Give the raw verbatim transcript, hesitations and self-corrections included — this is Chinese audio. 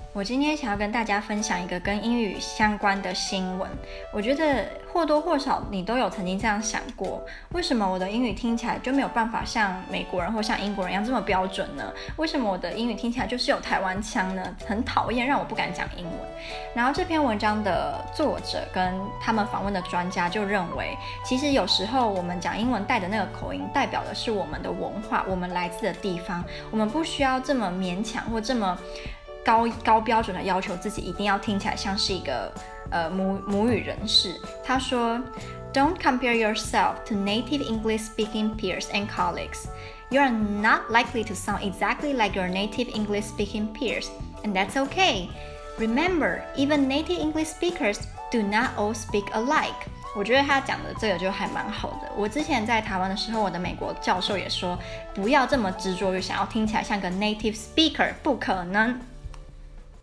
我今天想要跟大家分享一個跟英語相關的新聞。我覺得或多或少你都有曾經這樣想過，為什麼我的英語聽起來就沒有辦法像美國人或像英國人一樣這麼標準呢？為什麼我的英語聽起來就是有台灣腔呢？很討厭，讓我不敢講英文。然後這篇文章的作者跟他們訪問的專家就認為，其實有時候我們講英文帶的那個口音，代表的是我們的文化，我們來自的地方，我們不需要這麼勉強或這麼高高標準的要求自己一定要聽起來像是一個呃母母語人士。他說 Don't compare yourself to native English speaking peers and colleagues. You are not likely to sound exactly like your native English speaking peers, and that's okay. Remember, even native English speakers do not all speak alike. 我覺得他講的這個就還蠻好的。我之前在台灣的時候，我的美國教授也說，不要這麼執着於想要聽起來像個 native speaker，不可能。